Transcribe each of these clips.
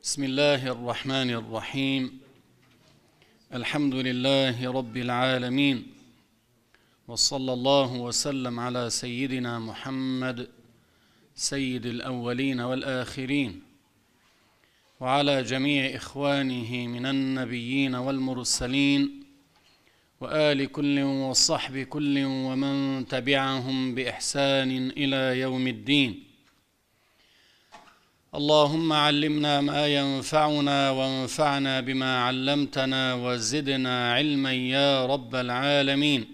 بسم الله الرحمن الرحيم. الحمد لله رب العالمين، وصلى الله وسلم على سيدنا محمد سيد الأولين والآخرين، وعلى جميع إخوانه من النبيين والمرسلين، وآل كل وصحب كل ومن تبعهم بإحسان إلى يوم الدين. اللهم علمنا ما ينفعنا وانفعنا بما علمتنا وزدنا علما يا رب العالمين.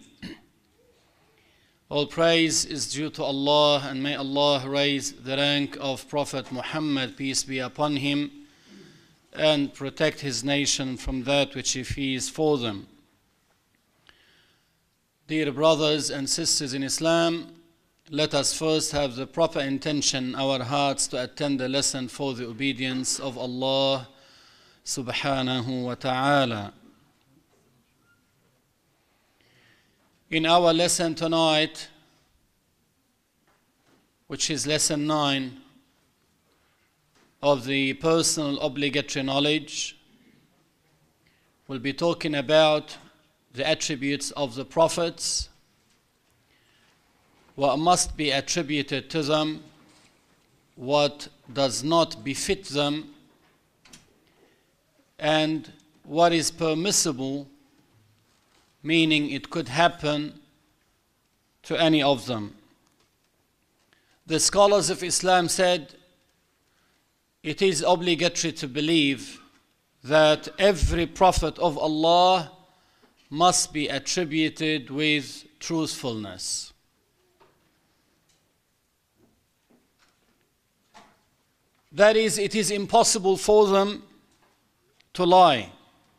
All praise is due to Allah, and may Allah raise the rank of Prophet Muhammad, peace be upon him, and protect his nation from that which he fears for them. Dear brothers and sisters in Islam, let us first have the proper intention in our hearts to attend the lesson for the obedience of Allah subhanahu wa ta'ala. In our lesson tonight, which is lesson 9 of the personal obligatory knowledge, we'll be talking about the attributes of the prophets, what must be attributed to them, what does not befit them, and what is permissible, meaning it could happen to any of them. The scholars of Islam said it is obligatory to believe that every prophet of Allah must be attributed with truthfulness. That is, it is impossible for them to lie,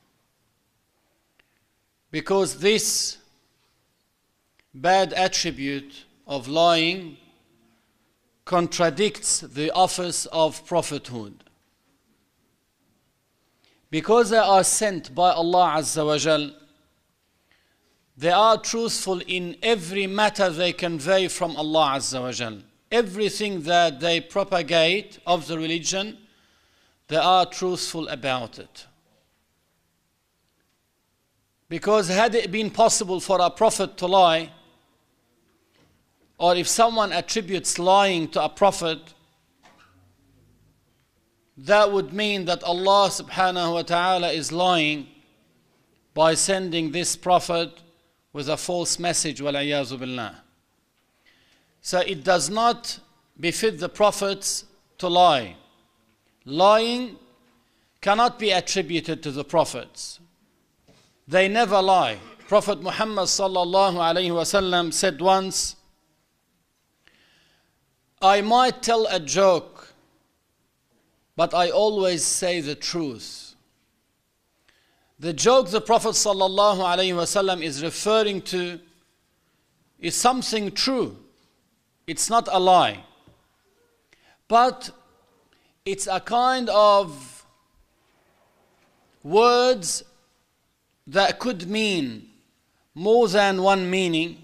because this bad attribute of lying contradicts the office of prophethood. Because they are sent by Allah Azza wa Jal, they are truthful in every matter they convey from Allah Azza wa Jal. Everything that they propagate of the religion, they are truthful about it. Because had it been possible for a prophet to lie, or if someone attributes lying to a prophet, that would mean that Allah subhanahu wa ta'ala is lying by sending this prophet with a false message, wal-iyazu billah. So it does not befit the prophets to lie. Lying cannot be attributed to the prophets. They never lie. Prophet Muhammad sallallahu alayhi wasallam said once, I might tell a joke, but I always say the truth. The joke the Prophet sallallahu alayhi wasallam is referring to is something true. It's not a lie, but it's a kind of words that could mean more than one meaning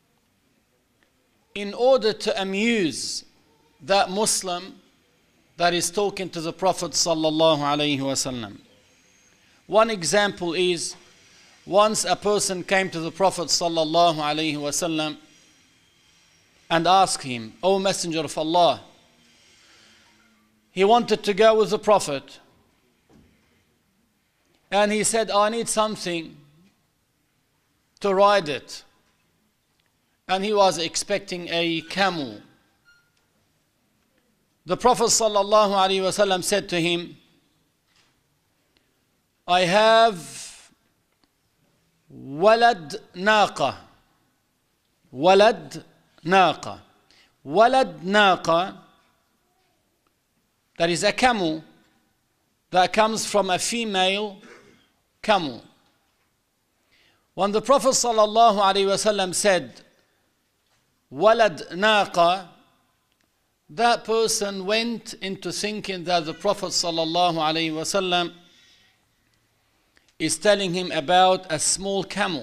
in order to amuse that Muslim that is talking to the Prophet sallallahu alaihi wasallam. One example is, once a person came to the Prophet sallallahu alaihi wasallam and asked him, O Messenger of Allah, he wanted to go with the Prophet, and he said, I need something to ride it. And he was expecting a camel. The Prophet sallallahu alaihi wasallam said to him, I have walad naqa. Walad naqa. Walad naqa, that is a camel that comes from a female camel. When the Prophet sallallahu alaihi wasallam said walad naqa, that person went into thinking that the Prophet sallallahu alaihi wasallam is telling him about a small camel.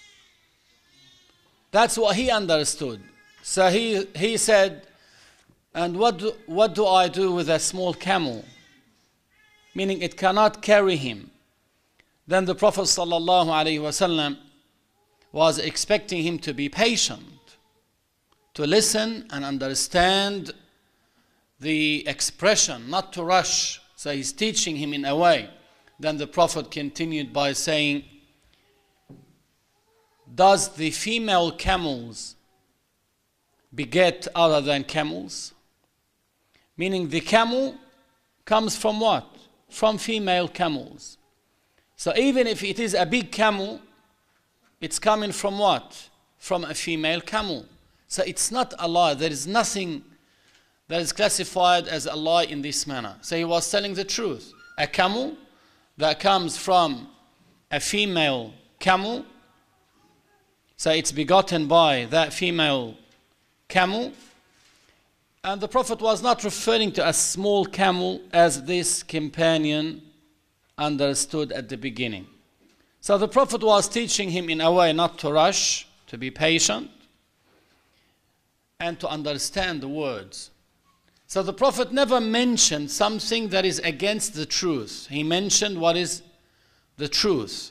That's what he understood. So he said, and what do I do with a small camel? meaning it cannot carry him, then the Prophet ﷺ was expecting him to be patient, to listen and understand the expression, not to rush. So he's teaching him in a way. Then the Prophet continued by saying, does the female camels beget other than camels? Meaning the camel comes from what? From female camels. So even if it is a big camel, it's coming from what? From a female camel. So it's not a lie. There is nothing that is classified as a lie in this manner. So he was telling the truth. A camel that comes from a female camel, so it's begotten by that female camel. And the Prophet was not referring to a small camel as this companion understood at the beginning. So the Prophet was teaching him in a way not to rush, to be patient, and to understand the words. So the Prophet never mentioned something that is against the truth. He mentioned what is the truth.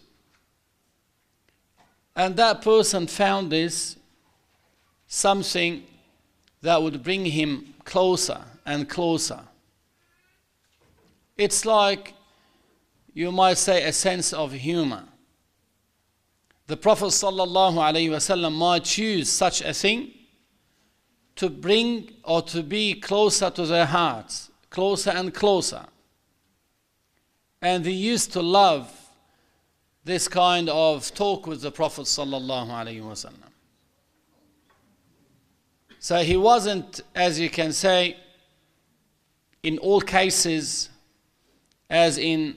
And that person found this something that would bring him closer and closer. It's like, you might say, a sense of humor. The Prophet ﷺ might choose such a thing to bring or to be closer to their hearts, closer and closer. And they used to love this kind of talk with the Prophet ﷺ. So he wasn't, as you can say, in all cases, as in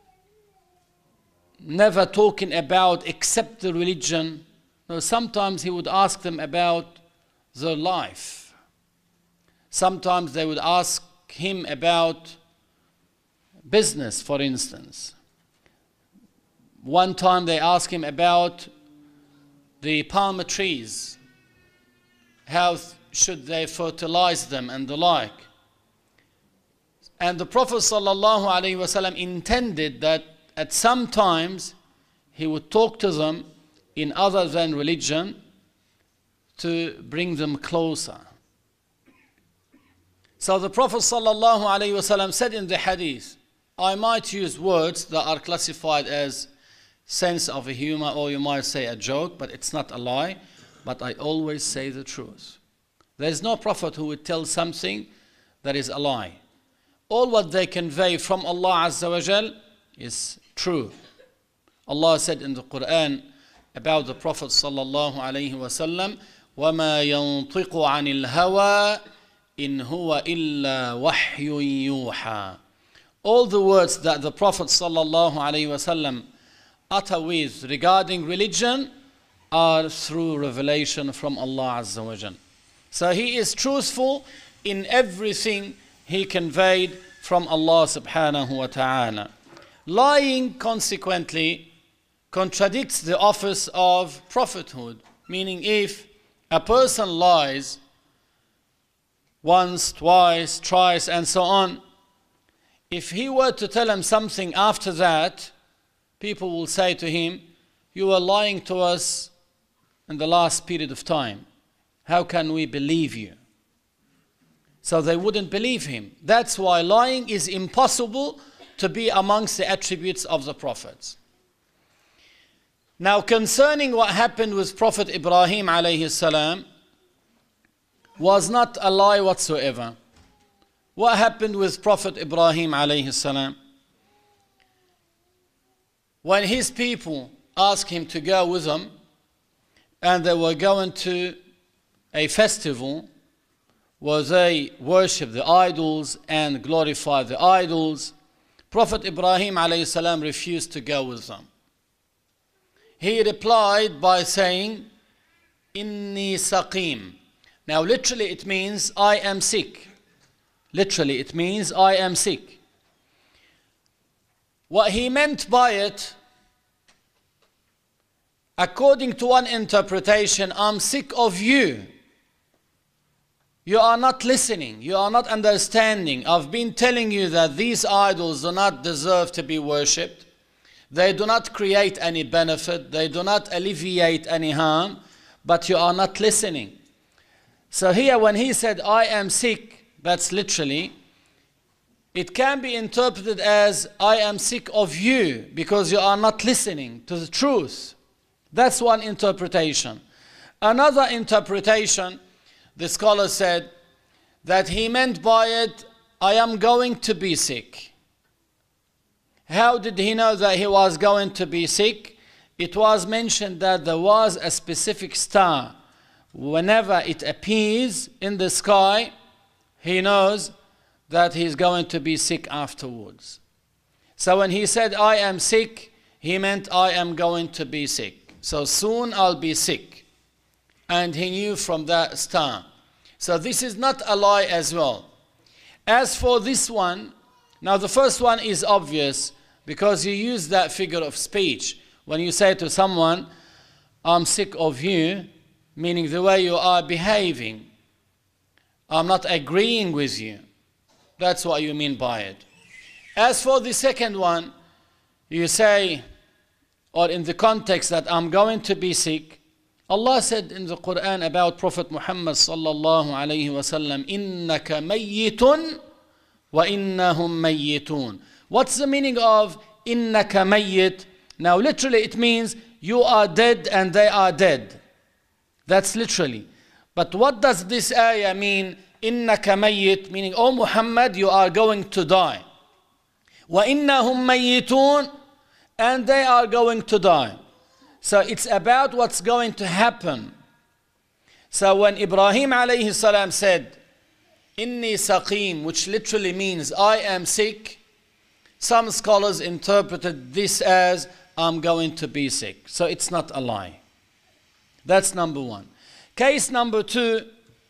never talking about except the religion. No, sometimes he would ask them about their life. Sometimes they would ask him about business, for instance. One time they asked him about the palm trees. How should they fertilize them and the like. And the Prophet ﷺ intended that at some times he would talk to them in other than religion to bring them closer. So the Prophet ﷺ said in the hadith, I might use words that are classified as sense of a humor, or you might say a joke, but it's not a lie, but I always say the truth. There is no prophet who would tell something that is a lie. All what they convey from Allah Azza wa Jal is true. Allah said in the Quran about the Prophet sallallahu alaihi wasallam, وَمَا يَنطِقُ عَنِ الْهَوَىٰ إِنْ هُوَ إِلَّا وَحْيٌ يُوحَىٰ. All the words that the Prophet sallallahu alaihi wasallam utter with regarding religion are through revelation from Allah Azza wa Jal. So he is truthful in everything he conveyed from Allah subhanahu wa ta'ala. Lying, consequently, contradicts the office of prophethood. Meaning, if a person lies once, twice, thrice, and so on, if he were to tell him something after that, people will say to him, you were lying to us in the last period of time. How can we believe you? So they wouldn't believe him. That's why lying is impossible to be amongst the attributes of the prophets. Now, concerning what happened with Prophet Ibrahim alayhi salam, was not a lie whatsoever. What happened with Prophet Ibrahim alayhi salam? When his people asked him to go with them, and they were going to a festival where they worship the idols and glorify the idols, Prophet Ibrahim alayhi salam refused to go with them. He replied by saying, Inni saqim. Now literally it means I am sick. Literally it means I am sick. What he meant by it, according to one interpretation, I'm sick of you. You are not listening. You are not understanding. I've been telling you that these idols do not deserve to be worshipped. They do not create any benefit. They do not alleviate any harm. But you are not listening. So here when he said, I am sick, that's literally, it can be interpreted as, I am sick of you because you are not listening to the truth. That's one interpretation. Another interpretation, the scholar said that he meant by it, I am going to be sick. How did he know that he was going to be sick? It was mentioned that there was a specific star. Whenever it appears in the sky, he knows that he's going to be sick afterwards. So when he said, I am sick, he meant I am going to be sick. So soon I'll be sick. And he knew from that star. So this is not a lie as well. As for this one, now the first one is obvious because you use that figure of speech. When you say to someone, I'm sick of you, meaning the way you are behaving, I'm not agreeing with you. That's what you mean by it. As for the second one, you say, or in the context that I'm going to be sick, Allah said in the Quran about Prophet Muhammad sallallahu alayhi wa sallam, إِنَّكَ مَيِّتٌ وَإِنَّهُمْ مَيِّتُونَ. What's the meaning of إِنَّكَ مَيِّت? Now literally it means you are dead and they are dead. That's literally. But what does this ayah mean? إِنَّكَ مَيِّت, meaning, oh Muhammad, you are going to die. وَإِنَّهُمْ مَيِّتُونَ, and they are going to die. So it's about what's going to happen. So when Ibrahim alayhi salam said, Inni saqim, which literally means I am sick, some scholars interpreted this as I'm going to be sick. So it's not a lie. That's number one. Case number two,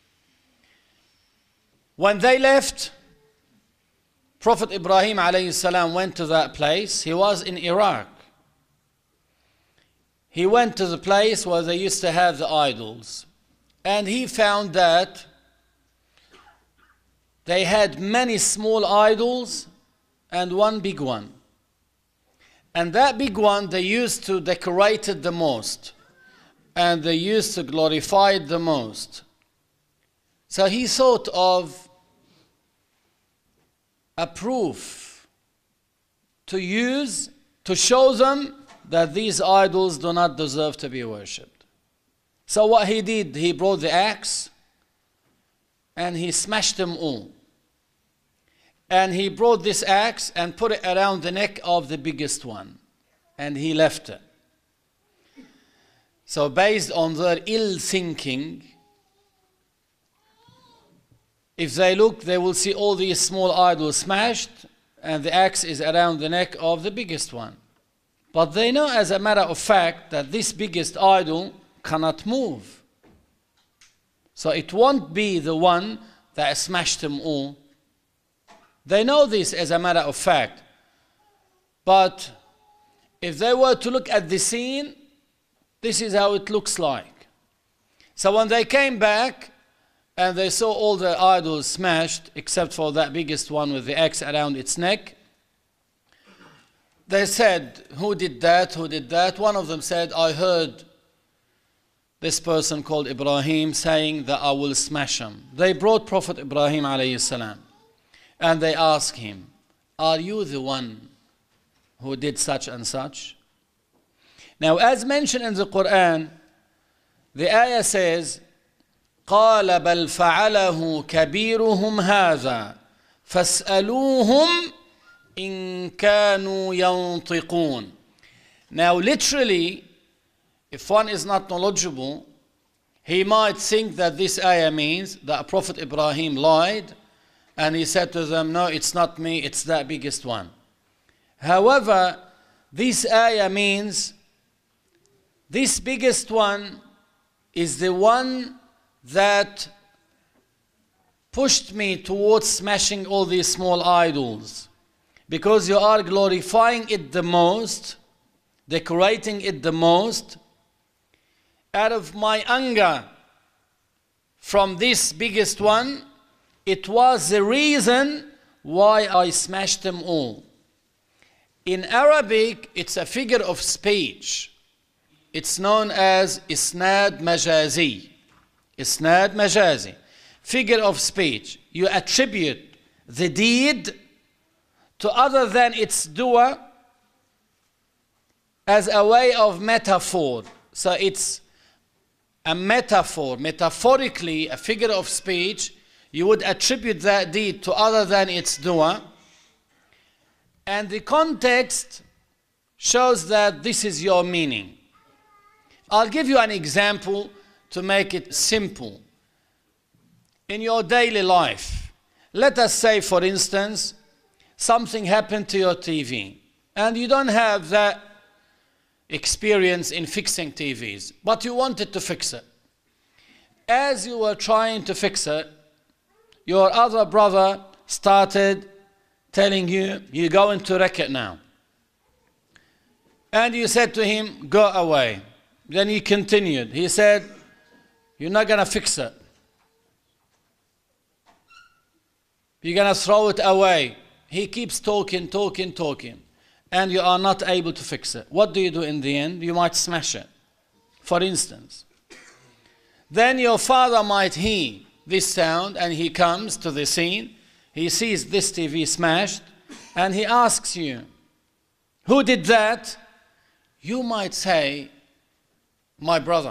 when they left, Prophet Ibrahim alayhi salam went to that place. He was in Iraq. He went to the place where they used to have the idols. And he found that they had many small idols and one big one. And that big one they used to decorate it the most. And they used to glorify it the most. So he thought of a proof to use to show them that these idols do not deserve to be worshipped. So what he did, he brought the axe and he smashed them all. And he brought this axe and put it around the neck of the biggest one. And he left it. So based on their ill thinking, if they look, they will see all these small idols smashed and the axe is around the neck of the biggest one. But they know as a matter of fact that this biggest idol cannot move. So it won't be the one that smashed them all. They know this as a matter of fact. But if they were to look at the scene, this is how it looks like. So when they came back and they saw all the idols smashed, except for that biggest one with the axe around its neck, they said, who did that? Who did that? One of them said, I heard this person called Ibrahim saying that I will smash him. They brought Prophet Ibrahim alayhi salam and they asked him, are you the one who did such and such? Now as mentioned in the Quran, the ayah says, قال بل فعله كبيرهم هذا فاسألوهم إن كانوا ينطقون. Now literally, if one is not knowledgeable, he might think that this ayah means that Prophet Ibrahim lied and he said to them, no, it's not me, it's that biggest one. However, this ayah means this biggest one is the one that pushed me towards smashing all these small idols. Because you are glorifying it the most, decorating it the most, out of my anger from this biggest one, it was the reason why I smashed them all. In Arabic, it's a figure of speech. It's known as isnad majazi. Isnad majazi. Figure of speech. You attribute the deed to other than its doer as a way of metaphor. So it's a metaphor, metaphorically, a figure of speech. You would attribute that deed to other than its doer. And the context shows that this is your meaning. I'll give you an example to make it simple. In your daily life, let us say, for instance, something happened to your TV, and you don't have that experience in fixing TVs, but you wanted to fix it. As you were trying to fix it, your other brother started telling you, you're going to wreck it now. And you said to him, go away. Then he continued. He said, you're not going to fix it. You're going to throw it away. He keeps talking, and you are not able to fix it. What do you do in the end? You might smash it, for instance. Then your father might hear this sound, and he comes to the scene. He sees this TV smashed, and he asks you, who did that? You might say, my brother.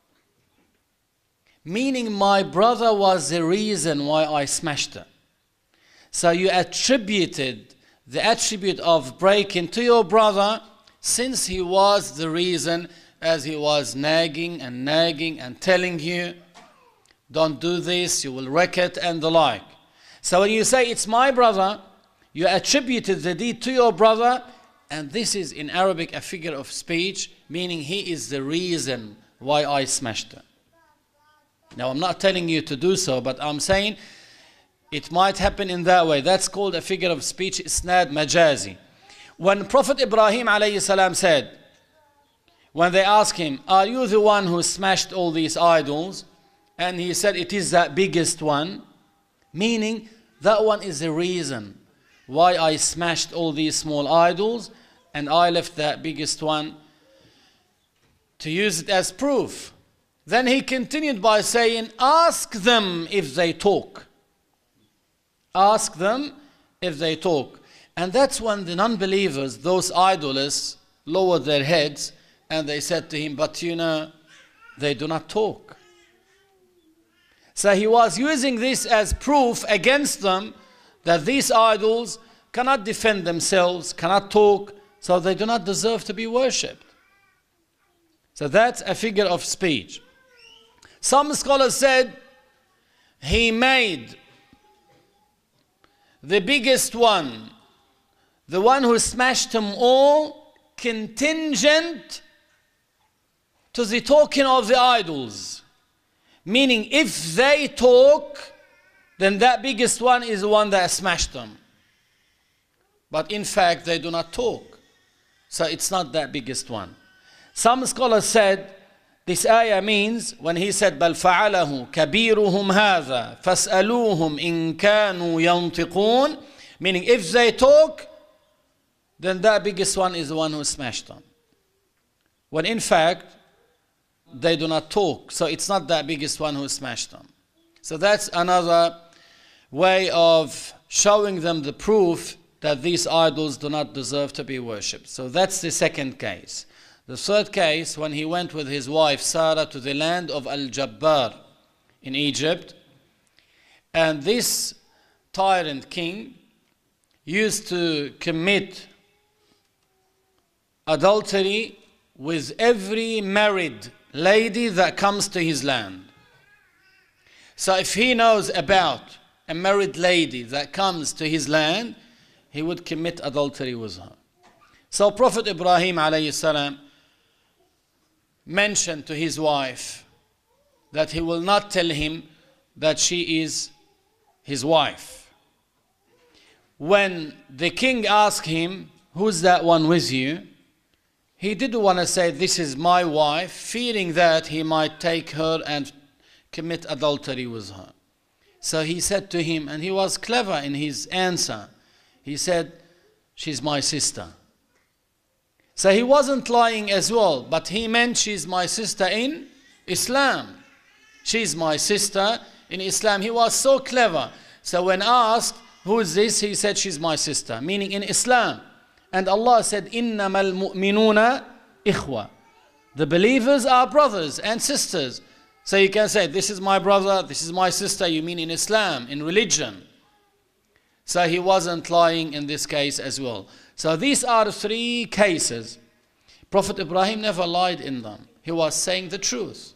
Meaning my brother was the reason why I smashed it. So you attributed the attribute of breaking to your brother, since he was the reason, as he was nagging and telling you, don't do this, you will wreck it, and the like. So when you say it's my brother, you attributed the deed to your brother, and this is in Arabic a figure of speech, meaning he is the reason why I smashed it. Now I'm not telling you to do so, but I'm saying it might happen in that way. That's called a figure of speech, isnad majazi. When Prophet Ibrahim alayhi salam said, when they asked him, are you the one who smashed all these idols? And he said, it is that biggest one. Meaning, that one is the reason why I smashed all these small idols, and I left that biggest one to use it as proof. Then he continued by saying, ask them if they talk. Ask them if they talk. And that's when the non-believers, those idolists, lowered their heads and they said to him, but you know, they do not talk. So he was using this as proof against them that these idols cannot defend themselves, cannot talk, so they do not deserve to be worshipped. So that's a figure of speech. Some scholars said he made the biggest one, the one who smashed them all, contingent to the talking of the idols. Meaning, if they talk, then that biggest one is the one that smashed them. But in fact, they do not talk. So it's not that biggest one. Some scholars said, this ayah means, when he said, بَلْ فَعَلَهُ كَبِيرُهُمْ هَذَا فَاسْأَلُوهُمْ إِن كَانُوا يَنْطِقُونَ, meaning if they talk, then that biggest one is the one who smashed them. When in fact, they do not talk, so it's not that biggest one who smashed them. So that's another way of showing them the proof that these idols do not deserve to be worshipped. So that's the second case. The third case, when he went with his wife Sarah to the land of Al-Jabbar in Egypt, and this tyrant king used to commit adultery with every married lady that comes to his land. So if he knows about a married lady that comes to his land, he would commit adultery with her. So Prophet Ibrahim alayhi salam mentioned to his wife that he will not tell him that she is his wife. When the king asked him, who's that one with you? He didn't want to say, this is my wife, fearing that he might take her and commit adultery with her. So he said to him, and he was clever in his answer, he said, she's my sister. So he wasn't lying as well, but he meant she's my sister in Islam. She's my sister in Islam. He was so clever. So when asked, who is this? He said, she's my sister, meaning in Islam. And Allah said, إِنَّمَا الْمُؤْمِنُونَ إِخْوَةً. The believers are brothers and sisters. So you can say, this is my brother, this is my sister, you mean in Islam, in religion. So he wasn't lying in this case as well. So these are 3 cases. Prophet Ibrahim never lied in them. He was saying the truth.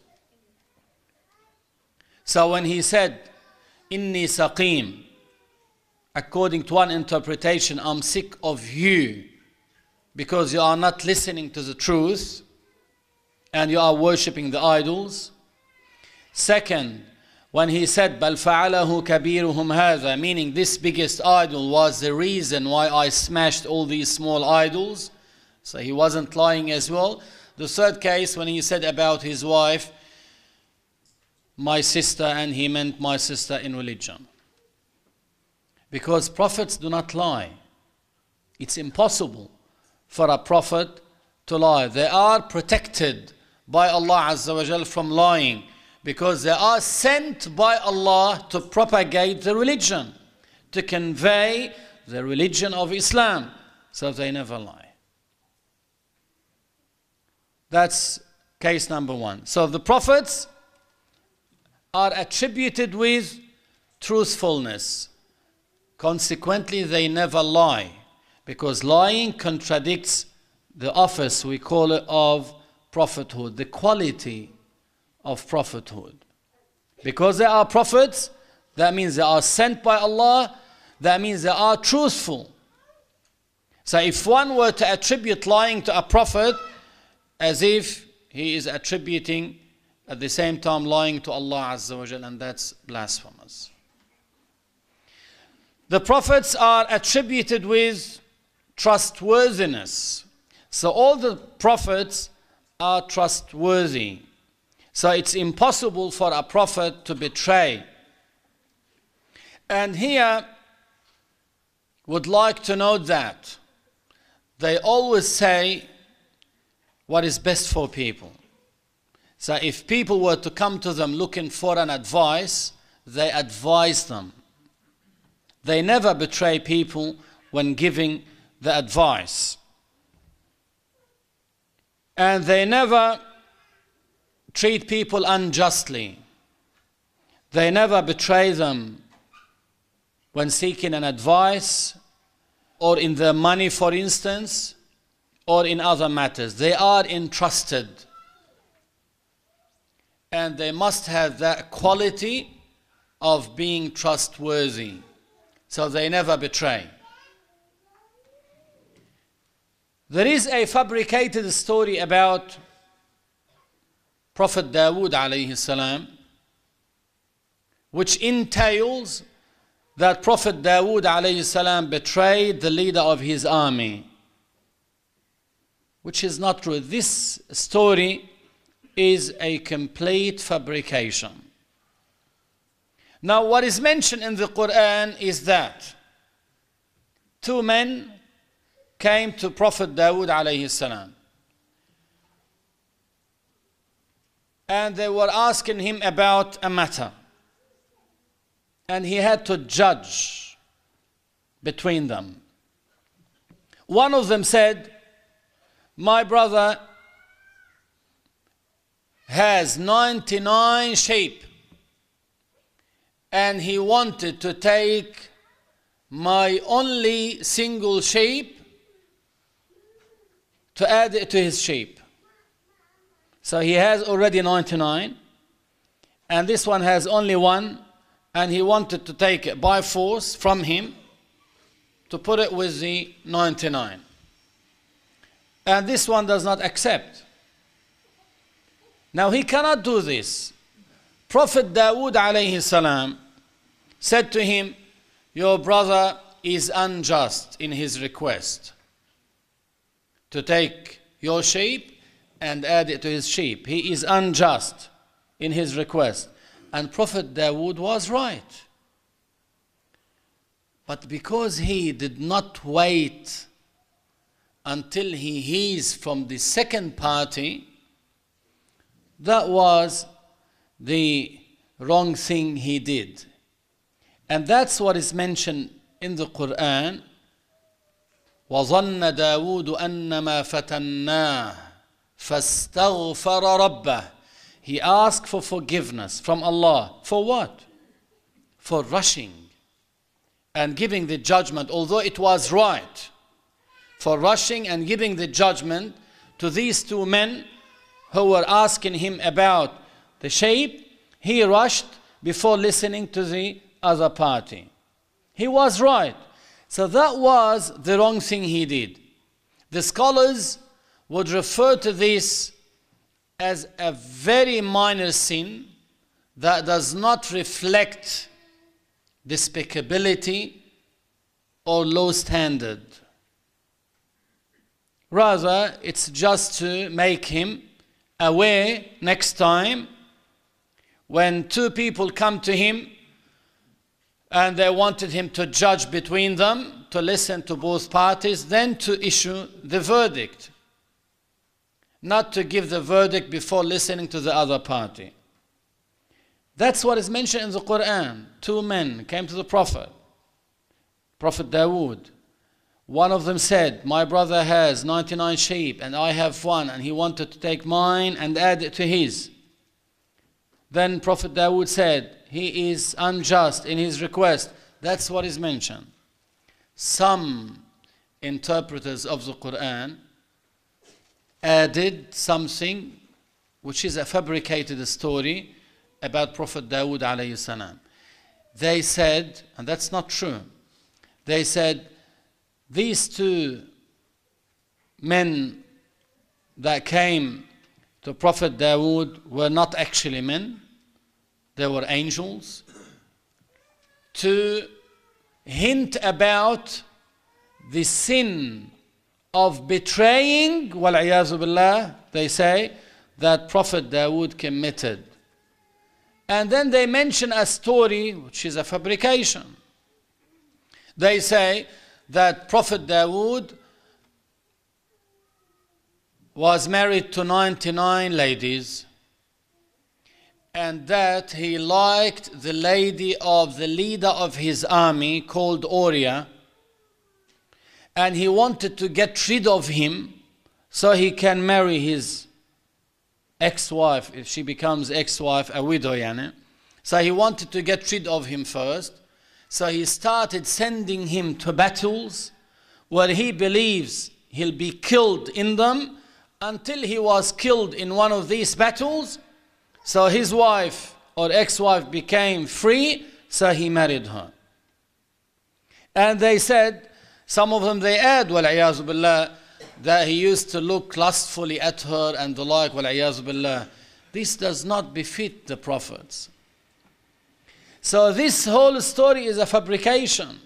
So when he said, Inni saqim, according to one interpretation, I'm sick of you because you are not listening to the truth and you are worshipping the idols. Second, when he said, بَلْ فَعَلَهُ كَبِيرُهُمْ هَذَا, meaning this biggest idol was the reason why I smashed all these small idols. So he wasn't lying as well. The third case, when he said about his wife, my sister, and he meant my sister in religion. Because prophets do not lie. It's impossible for a prophet to lie. They are protected by Allah Azza wa Jal from lying, because they are sent by Allah to propagate the religion, to convey the religion of Islam. So they never lie. That's case number 1. So the prophets are attributed with truthfulness. Consequently, they never lie, because lying contradicts the office, we call it, of prophethood, the quality of prophethood. Because they are prophets, that means they are sent by Allah, that means they are truthful. So if one were to attribute lying to a prophet, as if he is attributing at the same time lying to Allah Azza wa Jal, and that's blasphemous. The prophets are attributed with trustworthiness. So all the prophets are trustworthy. So it's impossible for a prophet to betray. And here, would like to note that they always say what is best for people. So if people were to come to them looking for an advice, they advise them. They never betray people when giving the advice. And they never treat people unjustly. They never betray them when seeking an advice, or in their money, for instance, or in other matters. They are entrusted. And they must have that quality of being trustworthy. So they never betray. There is a fabricated story about Prophet Dawood alayhi salam, which entails that Prophet Dawood alayhi salam betrayed the leader of his army, which is not true. This story is a complete fabrication. Now, what is mentioned in the Quran is that 2 men came to Prophet Dawood alayhi salam, and they were asking him about a matter, and he had to judge between them. One of them said, my brother has 99 sheep, and he wanted to take my only single sheep to add it to his sheep. So he has already 99, and this one has only 1, and he wanted to take it by force from him to put it with the 99. And this one does not accept. Now he cannot do this. Prophet Dawood alayhi salam said to him, your brother is unjust in his request to take your sheep and add it to his sheep. He is unjust in his request. And Prophet Dawood was right. But because he did not wait until he hears from the second party, that was the wrong thing he did. And that's what is mentioned in the Quran. وَظَنَّ دَاوُودُ أَنَّمَا فَتَنَّاهُ فَاسْتَغْفَرَ رَبَّهُ. He asked for forgiveness from Allah. For what? For rushing and giving the judgment, although it was right. For rushing and giving the judgment to these two men who were asking him about the shape. He rushed before listening to the other party. He was right. So that was the wrong thing he did. The scholars would refer to this as a very minor sin that does not reflect despicability or low standard. Rather, it's just to make him aware next time when two people come to him and they wanted him to judge between them, to listen to both parties, then to issue the verdict. Not to give the verdict before listening to the other party. That's what is mentioned in the Quran. Two men came to the Prophet Dawood. One of them said, my brother has 99 sheep and I have one, and he wanted to take mine and add it to his. Then Prophet Dawood said, he is unjust in his request. That's what is mentioned. Some interpreters of the Quran added something which is a fabricated story about Prophet Dawood alayhi salam. They said, and that's not true, they said these two men that came to Prophet Dawood were not actually men, they were angels, to hint about the sin of betraying, wal-'iyazu billah, they say, that Prophet Dawood committed. And then they mention a story which is a fabrication. They say that Prophet Dawood was married to 99 ladies, and that he liked the lady of the leader of his army called Uriah, and he wanted to get rid of him so he can marry his ex-wife. If she becomes ex-wife, a widow, yani. So he wanted to get rid of him first. So he started sending him to battles where he believes he'll be killed in them, until he was killed in one of these battles. So his wife or ex-wife became free, so he married her. And they said, some of them they add, wal-'iyazu billah, that he used to look lustfully at her and the like, wal-'iyazu billah. This does not befit the prophets. So this whole story is a fabrication.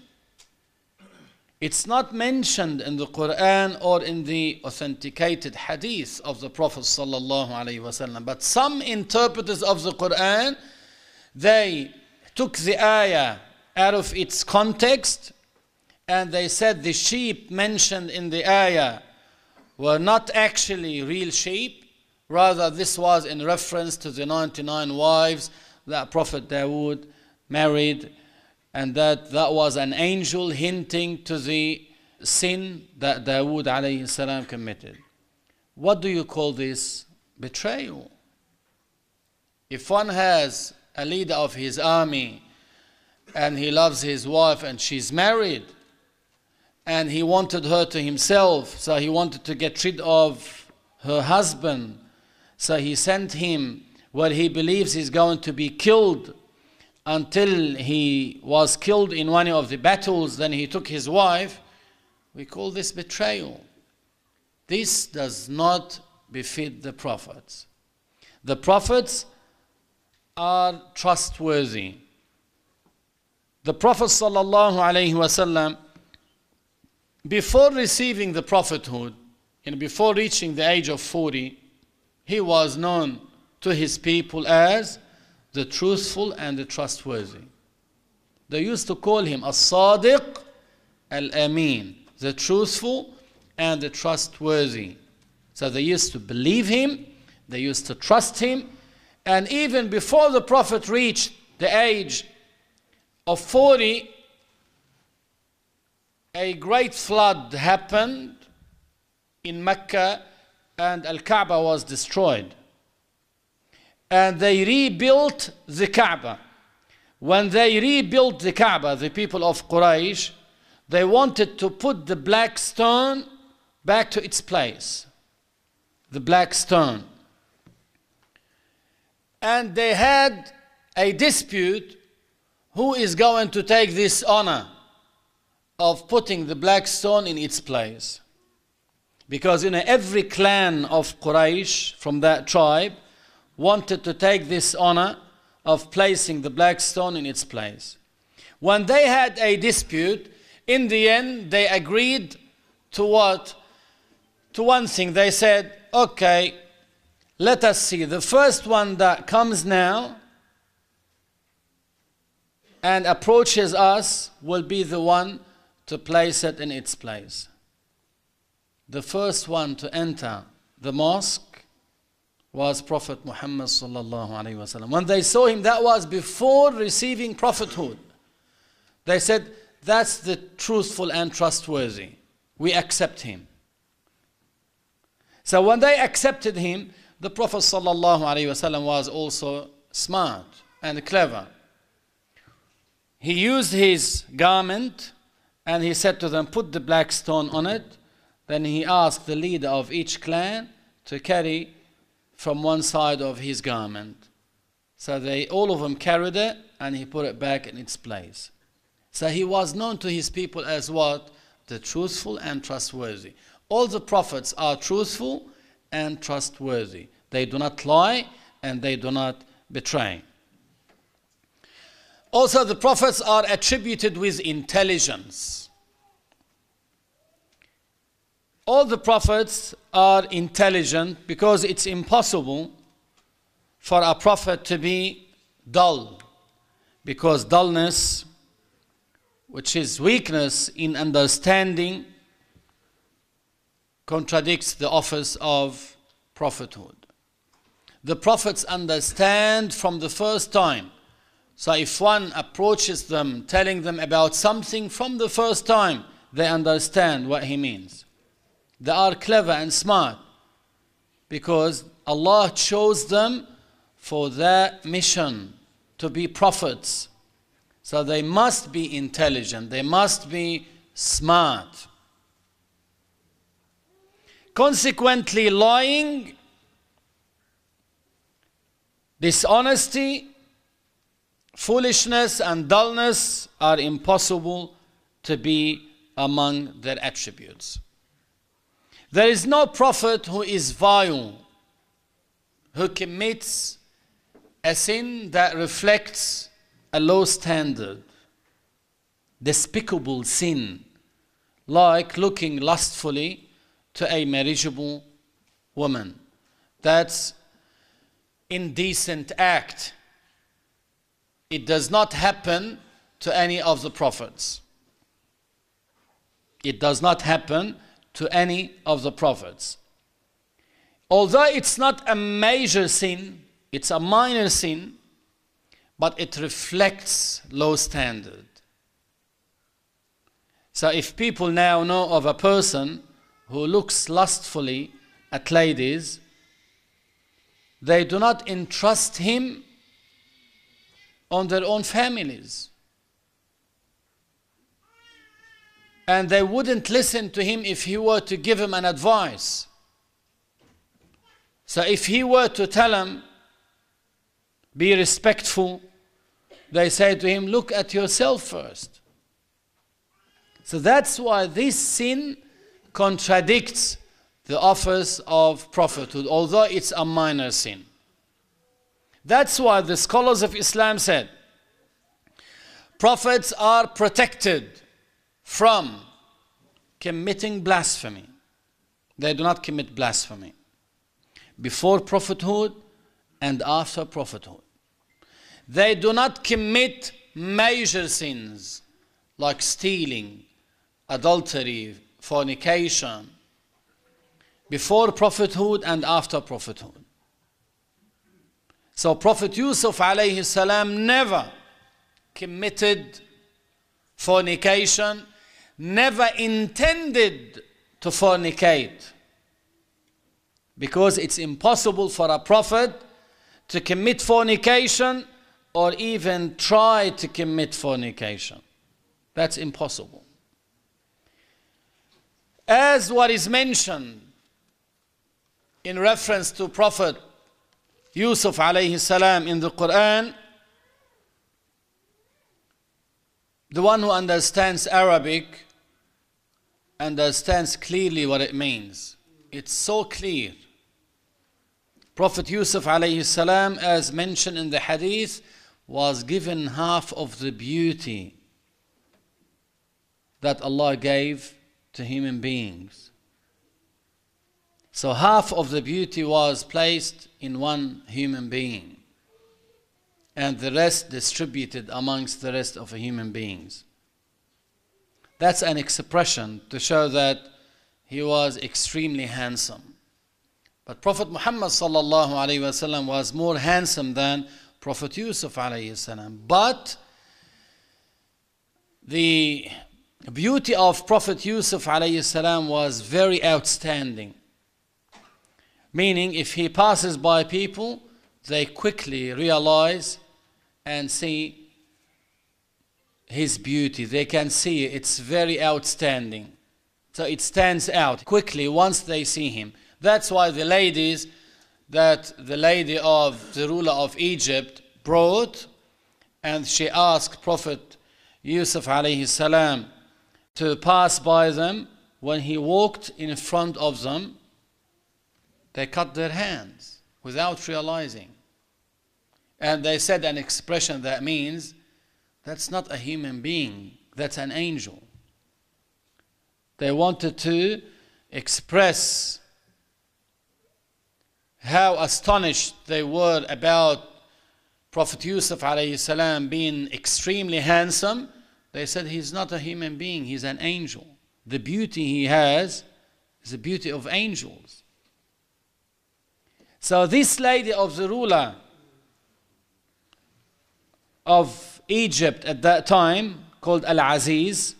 It's not mentioned in the Quran or in the authenticated hadith of the Prophet sallallahu alaihi wasallam. But some interpreters of the Quran, they took the ayah out of its context, and they said the sheep mentioned in the ayah were not actually real sheep. Rather, this was in reference to the 99 wives that Prophet Dawood married, and that was an angel hinting to the sin that Dawood alayhi salam committed. What do you call this? Betrayal. If one has a leader of his army and he loves his wife and she's married, and he wanted her to himself, so he wanted to get rid of her husband, so he sent him where he believes he's going to be killed, until he was killed in one of the battles, then he took his wife. We call this betrayal. This does not befit the prophets. The prophets are trustworthy. The Prophet sallallahu alaihi wasallam, before receiving the prophethood, and before reaching the age of 40, he was known to his people as the truthful and the trustworthy. They used to call him As-Sadiq Al-Amin, the truthful and the trustworthy. So they used to believe him, they used to trust him, and even before the Prophet reached the age of 40, a great flood happened in Mecca and Al-Kaaba was destroyed. And they rebuilt the Kaaba. When they rebuilt the Kaaba, the people of Quraysh, they wanted to put the black stone back to its place. The black stone. And they had a dispute who is going to take this honor of putting the black stone in its place. Because every clan of Quraysh from that tribe wanted to take this honor of placing the black stone in its place. When they had a dispute, in the end they agreed to what? To one thing. They said, okay, let us see. The first one that comes now and approaches us will be the one to place it in its place. The first one to enter the mosque was Prophet Muhammad sallallahu alaihi wasallam. When they saw him, that was before receiving prophethood. They said, that's the truthful and trustworthy. We accept him. So when they accepted him, the Prophet sallallahu alaihi wasallam was also smart and clever. He used his garment and he said to them, put the black stone on it. Then he asked the leader of each clan to carry from one side of his garment. So all of them carried it and he put it back in its place. So he was known to his people as what? The truthful and trustworthy. All the prophets are truthful and trustworthy. They do not lie and they do not betray. Also, the prophets are attributed with intelligence. All the prophets are intelligent because it's impossible for a prophet to be dull. Because dullness, which is weakness in understanding, contradicts the office of prophethood. The prophets understand from the first time. So if one approaches them, telling them about something from the first time, they understand what he means. They are clever and smart because Allah chose them for that mission, to be prophets. So they must be intelligent, they must be smart. Consequently, lying, dishonesty, foolishness and dullness are impossible to be among their attributes. There is no prophet who is vile, who commits a sin that reflects a low standard, despicable sin, like looking lustfully to a marriageable woman. That's indecent act. It does not happen to any of the prophets. It does not happen to any of the prophets. Although it's not a major sin, it's a minor sin, but it reflects low standard. So if people now know of a person who looks lustfully at ladies, they do not entrust him on their own families. And they wouldn't listen to him if he were to give him an advice. So if he were to tell him, be respectful, they say to him, look at yourself first. So that's why this sin contradicts the office of prophethood, although it's a minor sin. That's why the scholars of Islam said, prophets are protected from committing blasphemy. They do not commit blasphemy before prophethood and after prophethood. they do not commit major sins like stealing, adultery, fornication, before prophethood and after prophethood. So Prophet Yusuf alayhi salam never committed fornication, never intended to fornicate, because it's impossible for a prophet to commit fornication or even try to commit fornication. That's impossible. As what is mentioned in reference to Prophet Yusuf alayhi salam in the Quran, the one who understands Arabic understands clearly what it means. It's so clear. Prophet Yusuf alayhi salam, as mentioned in the hadith, was given half of the beauty that Allah gave to human beings. So half of the beauty was placed in one human being, and the rest distributed amongst the rest of the human beings. That's an expression to show that he was extremely handsome. But Prophet Muhammad sallallahu alaihi wasallam was more handsome than Prophet Yusuf alayhi salam. But the beauty of Prophet Yusuf alayhi salam was very outstanding. Meaning, if he passes by people, they quickly realize and see his beauty. They can see it. It's very outstanding. So it stands out quickly once they see him. That's why the ladies that the lady of the ruler of Egypt brought, and she asked Prophet Yusuf alayhi salam to pass by them. When he walked in front of them, they cut their hands without realizing. And they said an expression that means, that's not a human being, that's an angel. They wanted to express how astonished they were about Prophet Yusuf alayhi salam being extremely handsome. They said he's not a human being, he's an angel. The beauty he has is the beauty of angels. So this lady of the ruler of Egypt at that time, called Al-Aziz,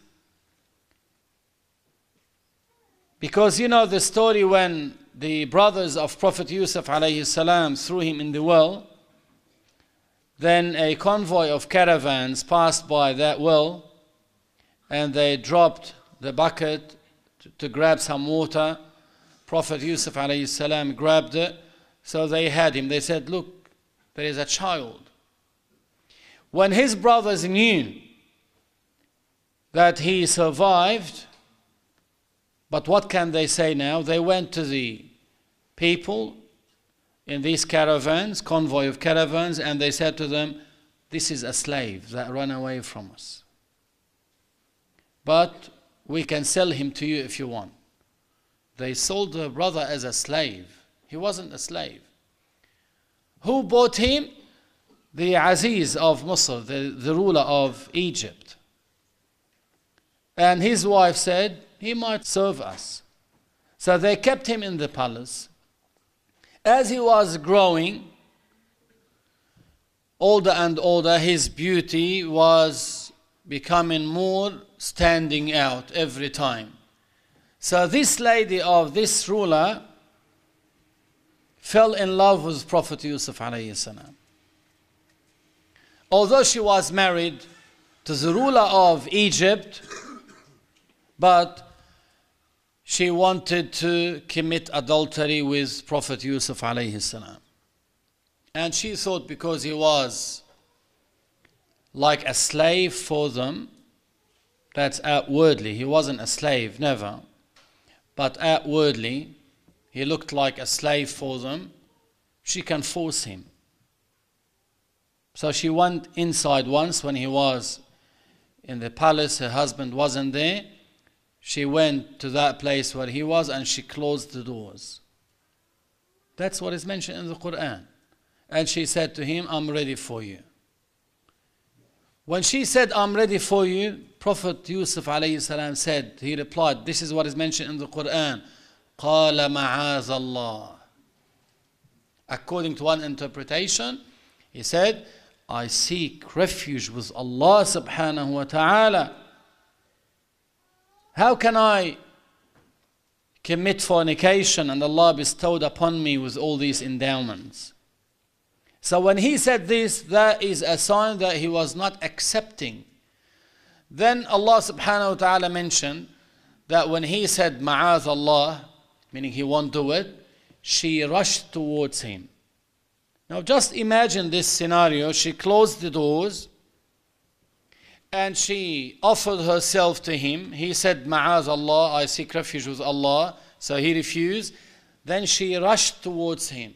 because you know the story when the brothers of Prophet Yusuf alayhi salam threw him in the well, then a convoy of caravans passed by that well, and they dropped the bucket to grab some water. Prophet Yusuf alayhi salam grabbed it. So they had him. They said, look, there is a child. When his brothers knew that he survived, but what can they say now? They went to the people in these caravans, convoy of caravans, and they said to them, this is a slave that ran away from us. But we can sell him to you if you want. They sold the brother as a slave. He wasn't a slave. Who bought him? The Aziz of Misr, the ruler of Egypt. And his wife said, he might serve us. So they kept him in the palace. As he was growing older and older, his beauty was becoming more standing out every time. So this lady of this ruler fell in love with Prophet Yusuf alayhi salam. Although she was married to the ruler of Egypt, but she wanted to commit adultery with Prophet Yusuf alayhi salam. And she thought because he was like a slave for them, that's outwardly, he wasn't a slave, never, but outwardly, he looked like a slave for them, she can force him. So she went inside once when he was in the palace, her husband wasn't there. She went to that place where he was and she closed the doors. That's what is mentioned in the Quran. And she said to him, I'm ready for you. When she said, I'm ready for you, Prophet Yusuf alayhi salam said, he replied, this is what is mentioned in the Quran, قَالَ مَعَاذَ اللَّهِ. According to one interpretation, he said, I seek refuge with Allah subhanahu wa ta'ala. How can I commit fornication and Allah bestowed upon me with all these endowments? So when he said this, that is a sign that he was not accepting. Then Allah subhanahu wa ta'ala mentioned that when he said ma'az Allah, meaning he won't do it, she rushed towards him. Now just imagine this scenario. She closed the doors and she offered herself to him. He said, Ma'az Allah, I seek refuge with Allah. So he refused. Then she rushed towards him.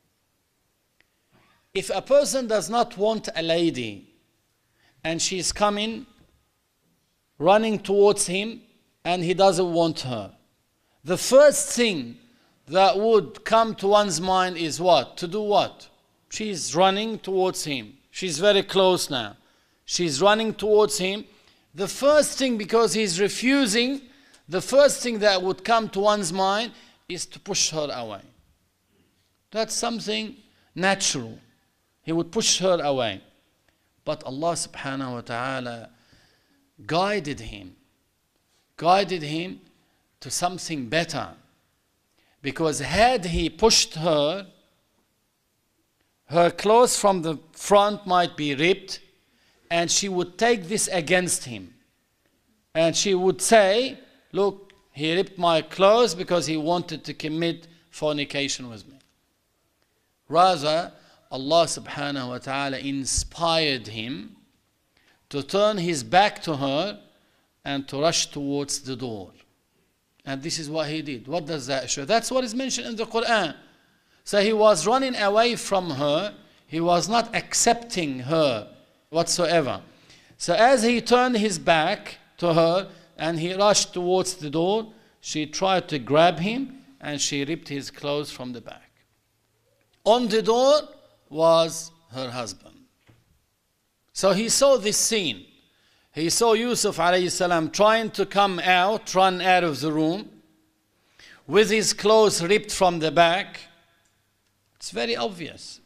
If a person does not want a lady and she's coming, running towards him, and he doesn't want her, the first thing that would come to one's mind is what? To do what? She's running towards him. She's very close now. She's running towards him. The first thing, because he's refusing, the first thing that would come to one's mind is to push her away. That's something natural. He would push her away. But Allah subhanahu wa ta'ala guided him to something better. Because had he pushed her, her clothes from the front might be ripped, and she would take this against him. And she would say, look, he ripped my clothes because he wanted to commit fornication with me. Rather, Allah subhanahu wa ta'ala inspired him to turn his back to her and to rush towards the door. And this is what he did. What does that show? That's what is mentioned in the Quran. So he was running away from her. He was not accepting her whatsoever. So as he turned his back to her and he rushed towards the door, she tried to grab him and she ripped his clothes from the back. On the door was her husband. So he saw this scene. He saw Yusuf alayhi salam trying to come out, run out of the room, with his clothes ripped from the back. It's very obvious.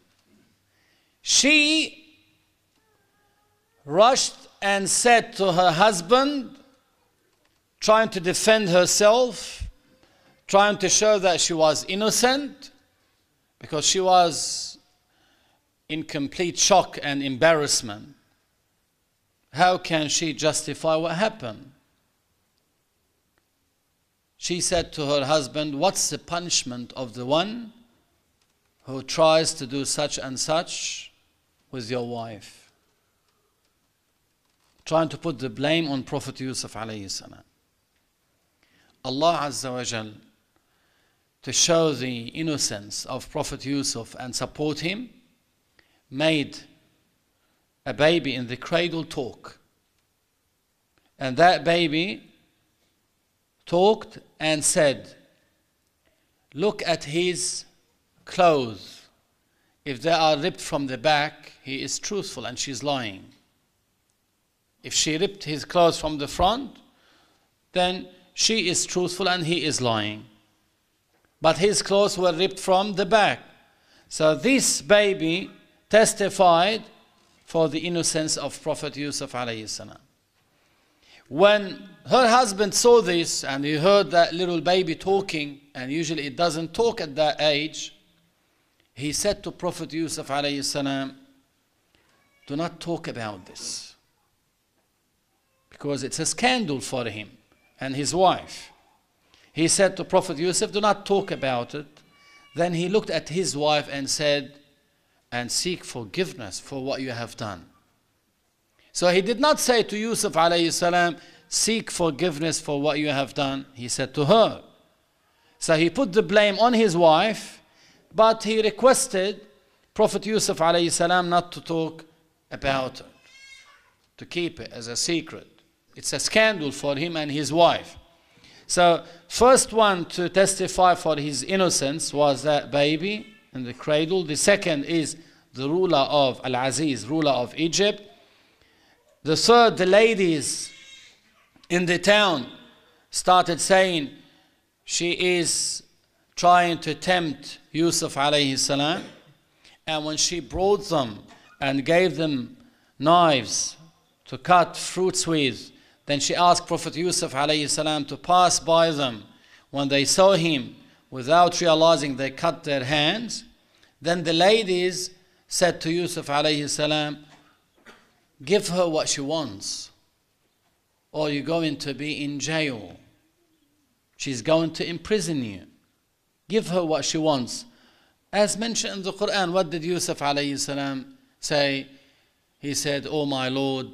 She rushed and said to her husband, trying to defend herself, trying to show that she was innocent, because she was in complete shock and embarrassment. How can she justify what happened? She said to her husband, what's the punishment of the one who tries to do such and such with your wife? Trying to put the blame on Prophet Yusuf alayhi salam. Allah Azza wa Jal, to show the innocence of Prophet Yusuf and support him, made a baby in the cradle talk. And that baby talked and said, look at his clothes. If they are ripped from the back, he is truthful and she's lying. If she ripped his clothes from the front, then she is truthful and he is lying. But his clothes were ripped from the back. So this baby testified for the innocence of Prophet Yusuf alayhi salam. When her husband saw this and he heard that little baby talking, and usually it doesn't talk at that age, he said to Prophet Yusuf alayhi salam, do not talk about this, because it's a scandal for him and his wife. He said to Prophet Yusuf, do not talk about it. Then he looked at his wife and said, and seek forgiveness for what you have done. So he did not say to Yusuf alayhi salam, seek forgiveness for what you have done. He said to her. So he put the blame on his wife, but he requested Prophet Yusuf alayhi salam not to talk about it, to keep it as a secret. It's a scandal for him and his wife. So first one to testify for his innocence was that baby in the cradle. The second is the ruler of Al-Aziz, ruler of Egypt. The third, the ladies in the town started saying she is trying to tempt Yusuf alayhi salam. And when she brought them and gave them knives to cut fruits with, then she asked Prophet Yusuf alayhi salam to pass by them. When they saw him, without realizing, they cut their hands. Then the ladies said to Yusuf alayhi salam, give her what she wants, or you're going to be in jail. She's going to imprison you. Give her what she wants. As mentioned in the Quran, what did Yusuf alayhi salam say? He said, "Oh my Lord,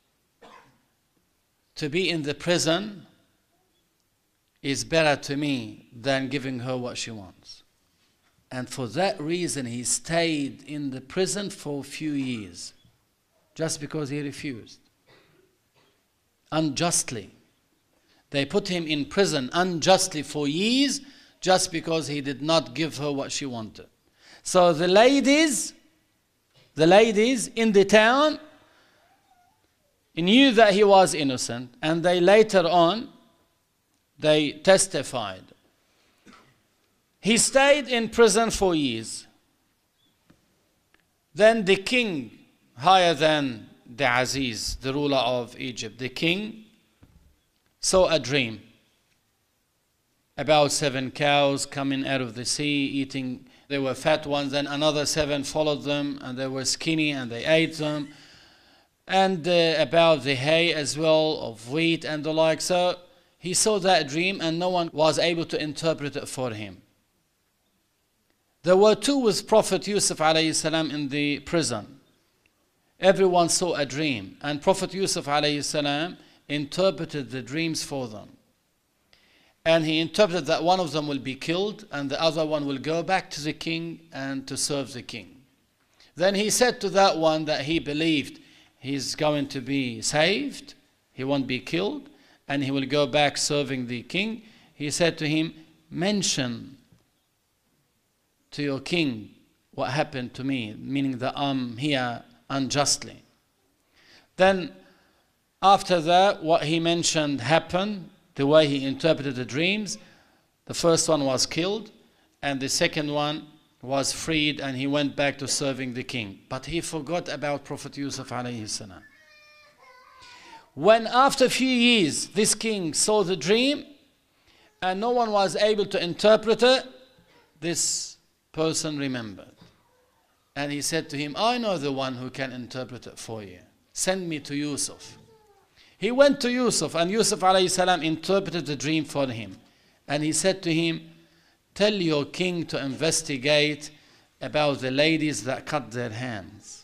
to be in the prison is better to me than giving her what she wants." And for that reason, he stayed in the prison for a few years, just because he refused. Unjustly. They put him in prison unjustly for years, just because he did not give her what she wanted. So the ladies in the town knew that he was innocent, and they later on, they testified. He stayed in prison for years. Then the king, higher than the Aziz, the ruler of Egypt, the king saw a dream about 7 cows coming out of the sea, eating. They were fat ones, and another 7 followed them, and they were skinny, and they ate them. And about the hay as well, of wheat and the like. So he saw that dream, and no one was able to interpret it for him. There were 2 with Prophet Yusuf alayhi salam in the prison. Everyone saw a dream, and Prophet Yusuf alayhi salam interpreted the dreams for them. And he interpreted that one of them will be killed, and the other one will go back to the king and to serve the king. Then he said to that one that he believed he's going to be saved, he won't be killed, and he will go back serving the king. He said to him, mention to your king what happened to me, meaning that I'm here unjustly. Then after that, what he mentioned happened, the way he interpreted the dreams. The first one was killed, and the second one was freed, and he went back to serving the king. But he forgot about Prophet Yusuf alayhi salam. When after a few years, this king saw the dream, and no one was able to interpret it, this person remembered. And he said to him, I know the one who can interpret it for you. Send me to Yusuf. He went to Yusuf, and Yusuf alayhi salam interpreted the dream for him. And he said to him, tell your king to investigate about the ladies that cut their hands.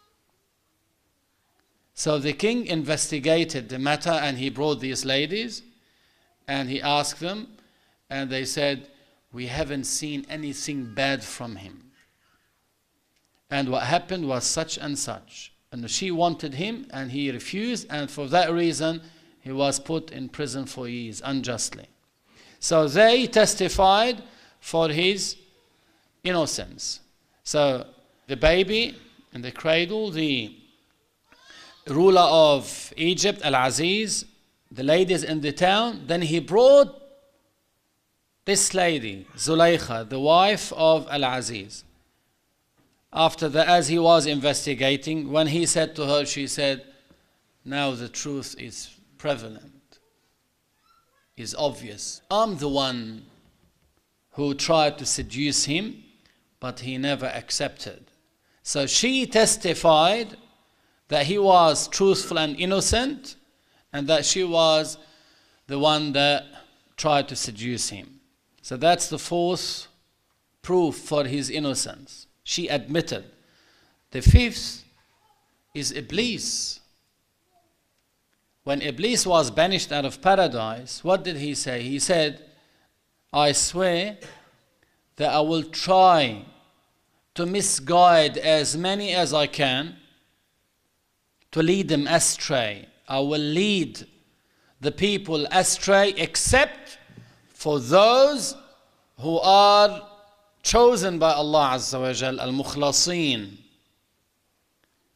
So the king investigated the matter, and he brought these ladies, and he asked them, and they said, we haven't seen anything bad from him. And what happened was such and such. And she wanted him, and he refused, and for that reason, he was put in prison for years, unjustly. So they testified for his innocence. So the baby in the cradle, the ruler of Egypt, Al-Aziz, the ladies in the town, then he brought this lady, Zulaykha, the wife of Al-Aziz. After that, as he was investigating, when he said to her, she said, now the truth is prevalent, is obvious. I'm the one who tried to seduce him, but he never accepted. So she testified that he was truthful and innocent, and that she was the one that tried to seduce him. So that's the 4th proof for his innocence. She admitted. The 5th is Iblis. When Iblis was banished out of paradise, what did he say? He said, I swear that I will try to misguide as many as I can, to lead them astray. I will lead the people astray, except for those who are chosen by Allah Azza wa Jal, al-Mukhlasin.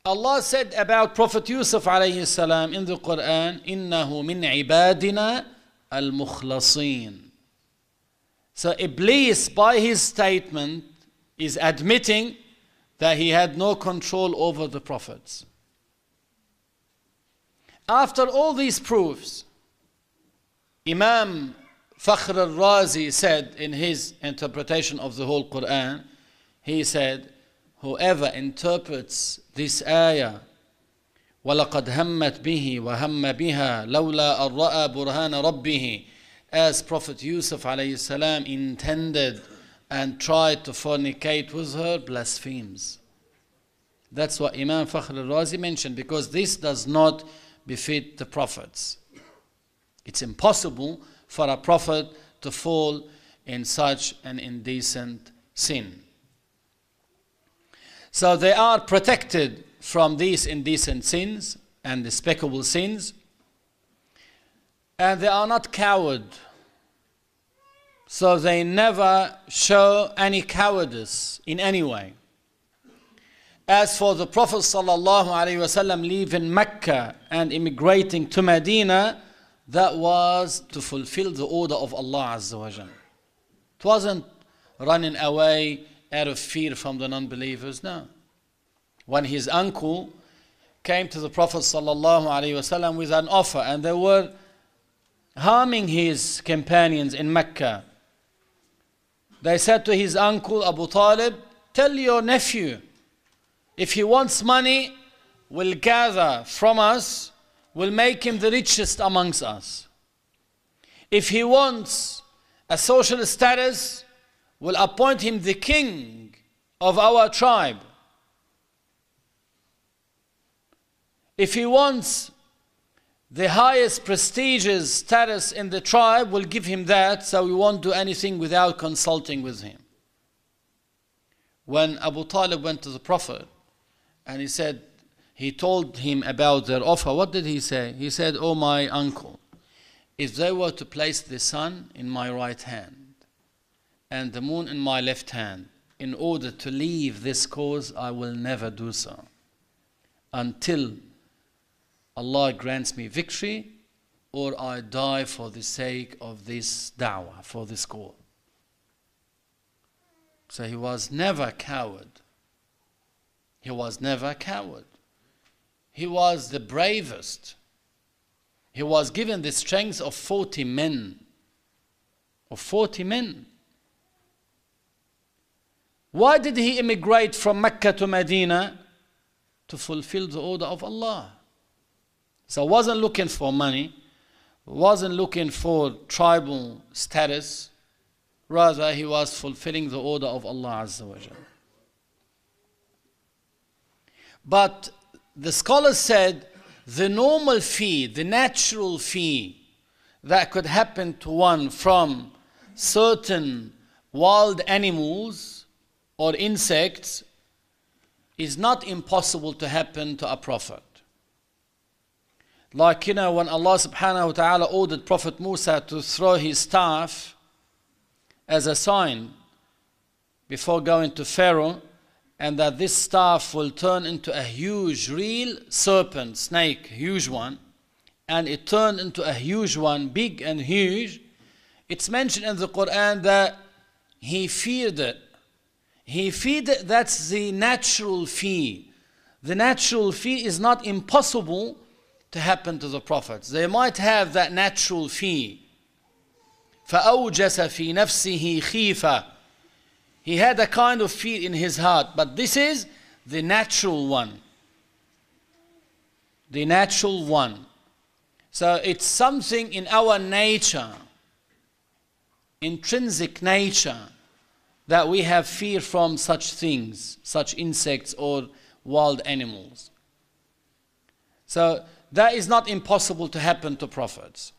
Allah said about Prophet Yusuf alayhi salam in the Quran, إِنَّهُ مِنْ عِبَادِنَا الْمُخْلَصِينَ. So Iblis, by his statement, is admitting that he had no control over the prophets. After all these proofs, Imam Fakhr al-Razi said in his interpretation of the whole Quran, he said, whoever interprets this ayah, وَلَقَدْ هَمَّتْ بِهِ وَهَمَّ بِهَا لَوْلَا أَن رَأَى بُرْهَانَ رَبِّهِ, as Prophet Yusuf alayhi salam intended and tried to fornicate with her, blasphemes. That's what Imam Fakhr al-Razi mentioned, because this does not befit the prophets. It's impossible for a prophet to fall in such an indecent sin. So they are protected from these indecent sins and despicable sins, and they are not cowards. So they never show any cowardice in any way. As for the Prophet ﷺ leaving Mecca and immigrating to Medina, that was to fulfill the order of Allah Azza wa Jal. It wasn't running away out of fear from the non-believers, no. When his uncle came to the Prophet ﷺ with an offer, and they were harming his companions in Mecca, they said to his uncle Abu Talib, tell your nephew, if he wants money, we'll gather from us, we'll make him the richest amongst us. If he wants a social status, we'll appoint him the king of our tribe. If he wants the highest prestigious status in the tribe, we'll give him that, so we won't do anything without consulting with him. When Abu Talib went to the Prophet, and he told him about their offer, what did he say? He said, oh my uncle, if they were to place the sun in my right hand and the moon in my left hand, in order to leave this cause, I will never do so until Allah grants me victory or I die for the sake of this da'wah, for this call. So he was never a coward. He was never a coward. He was the bravest. He was given the strength of 40 men. Of 40 men. Why did he immigrate from Mecca to Medina? To fulfill the order of Allah. So he wasn't looking for money, wasn't looking for tribal status, rather he was fulfilling the order of Allah Azza wa Jalla. But the scholars said the normal fee, the natural fee that could happen to one from certain wild animals or insects is not impossible to happen to a prophet. Like, when Allah subhanahu wa ta'ala ordered Prophet Musa to throw his staff as a sign before going to Pharaoh, and that this staff will turn into a huge, real serpent, snake, huge one, and it turned into a huge one, big and huge. It's mentioned in the Quran that he feared it. He feared it, that's the natural fear. The natural fear is not impossible to happen to the prophets. They might have that natural fear. فَأَوْجَسَ فِي نَفْسِهِ خِيفَةً. He had a kind of fear in his heart, but this is the natural one. The natural one. So it's something in our nature, intrinsic nature, that we have fear from such things, such insects or wild animals. So that is not impossible to happen to prophets.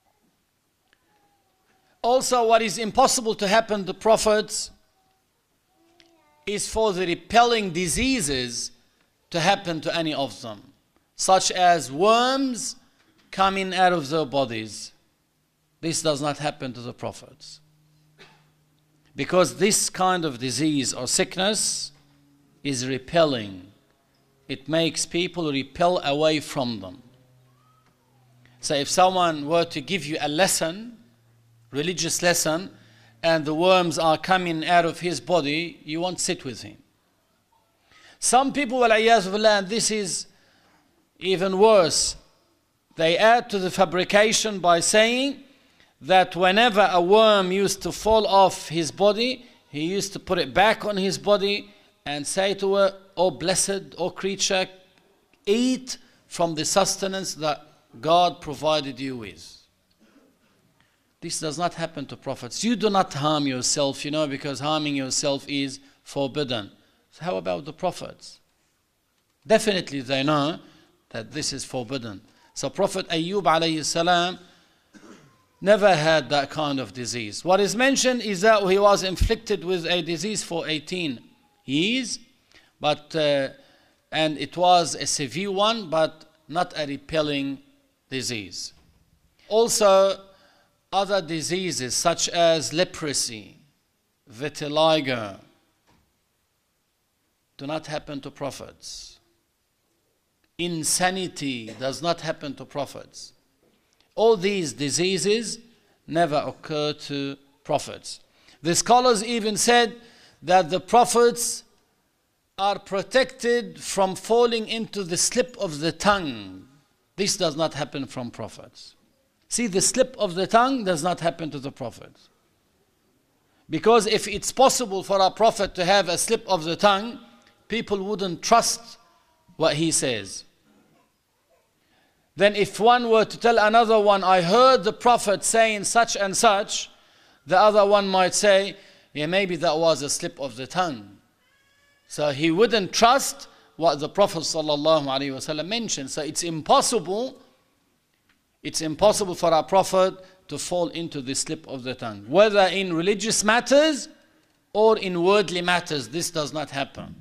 Also, what is impossible to happen to prophets is for the repelling diseases to happen to any of them, such as worms coming out of their bodies. This does not happen to the prophets, because this kind of disease or sickness is repelling it makes people repel away from them. So if someone were to give you a lesson, religious lesson, and the worms are coming out of his body, you won't sit with him. Some people, وَالْعِيَاذُ بِاللَّهِ, and this is even worse, they add to the fabrication by saying that whenever a worm used to fall off his body, he used to put it back on his body and say to her, "Oh blessed, oh creature, eat from the sustenance that God provided you with." This does not happen to prophets. You do not harm yourself, because harming yourself is forbidden. So how about the prophets? Definitely they know that this is forbidden. So Prophet Ayyub alayhi salam never had that kind of disease. What is mentioned is that he was inflicted with a disease for 18 years, and it was a severe one, but not a repelling disease. Also, other diseases such as leprosy, vitiligo, do not happen to prophets. Insanity does not happen to prophets. All these diseases never occur to prophets. The scholars even said that the prophets are protected from falling into the slip of the tongue. This does not happen from prophets. See, the slip of the tongue does not happen to the prophets. Because if it's possible for a prophet to have a slip of the tongue, people wouldn't trust what he says. Then if one were to tell another one, "I heard the prophet saying such and such," the other one might say, "Yeah, maybe that was a slip of the tongue." So he wouldn't trust what the Prophet ﷺ mentioned. So it's impossible for a prophet to fall into the slip of the tongue. Whether in religious matters or in worldly matters, this does not happen.